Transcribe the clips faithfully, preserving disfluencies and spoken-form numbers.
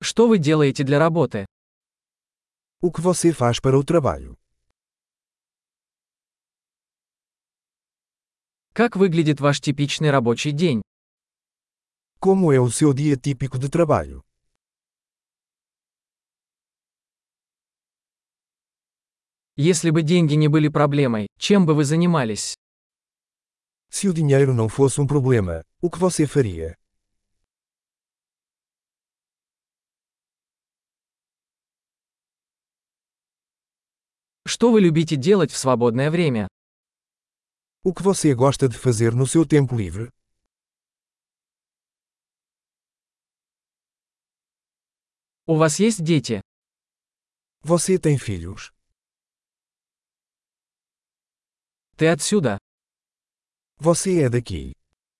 Что вы делаете для работы? O que você faz para o trabalho? Как выглядит ваш типичный рабочий день? Como é o seu dia típico de trabalho? Если бы деньги не были проблемой, чем бы вы занимались? Se o dinheiro não fosse um problema, o que você faria? Что вы любите делать в свободное время? O que você gosta de fazer no seu tempo livre? У вас есть дети? Você tem filhos? Ты отсюда? Você é daqui?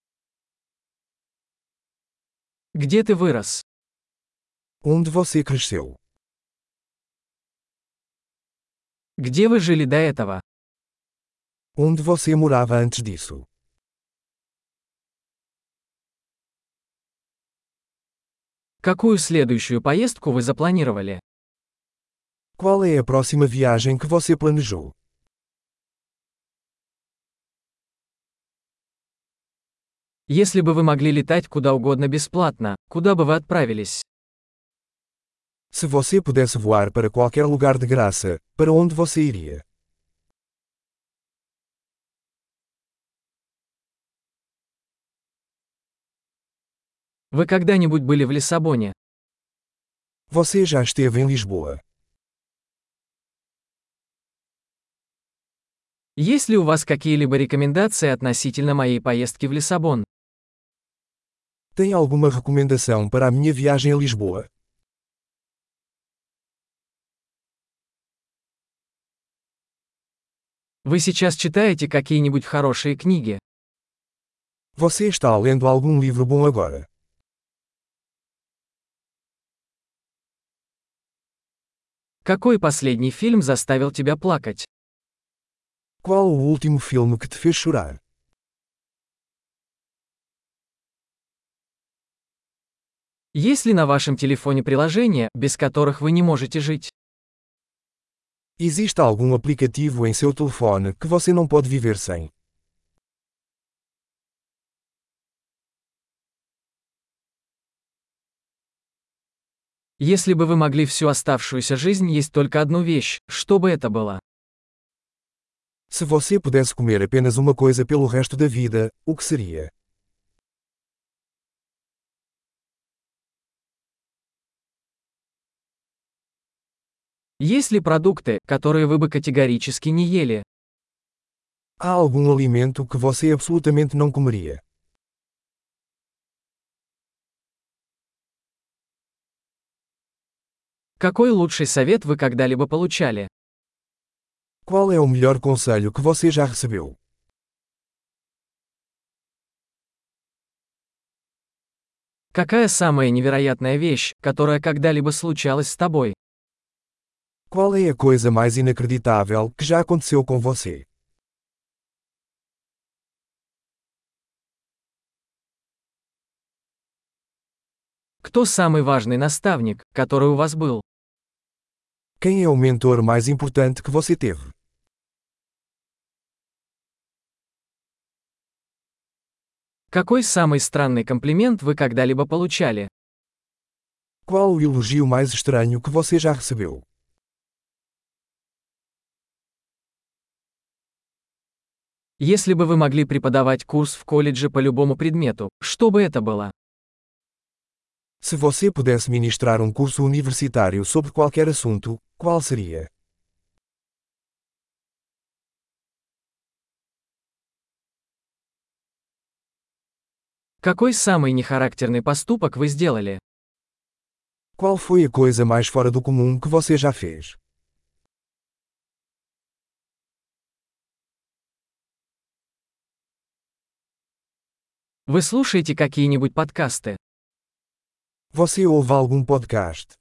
Где ты вырос? Onde você cresceu? Где вы жили до этого? Onde você morava antes disso? Какую следующую поездку вы запланировали? Qual é a próxima viagem que você planejou? Если бы вы могли летать куда угодно бесплатно, куда бы вы отправились? Se você pudesse voar para qualquer lugar de graça, para onde você iria? Вы когда-нибудь были в Лиссабоне? Você já esteve em Lisboa? Есть ли у вас какие-либо рекомендации относительно моей поездки в Лиссабон? Tem alguma recomendação para a minha viagem a Lisboa? Вы сейчас читаете какие-нибудь хорошие книги? Você está lendo algum livro bom agora? Какой последний фильм заставил тебя плакать? Qual o último filme que te fez chorar? Есть ли на вашем телефоне приложения, без которых вы не можете жить? Existe algum aplicativo em seu telefone que você não pode viver sem? Если бы вы могли всю оставшуюся жизнь есть только одну вещь, что бы это было? Se você pudesse comer apenas uma coisa pelo resto da vida, o que seria? Есть ли продукты, которые вы бы категорически не ели? Há algum alimento que você absolutamente não comeria? Какой лучший совет вы когда-либо получали? Qual é o melhor conselho que você já recebeu? Какая самая невероятная вещь, которая когда-либо случалась с тобой? Qual é a coisa mais inacreditável que já aconteceu com você? Кто самый важный наставник, который у вас был? Quem é o mentor mais importante que você teve? Какой самый странный комплимент вы когда-либо получали? Qual o elogio mais estranho que você já recebeu? Если бы вы могли преподавать курс в колледже по любому предмету, что бы это было? Se você pudesse ministrar um curso universitário sobre qualquer assunto, qual seria? Какой самый нехарактерный поступок вы сделали? Qual foi a coisa mais fora do comum que você já fez? Вы слушаете какие-нибудь подкасты? Você ouve algum podcast?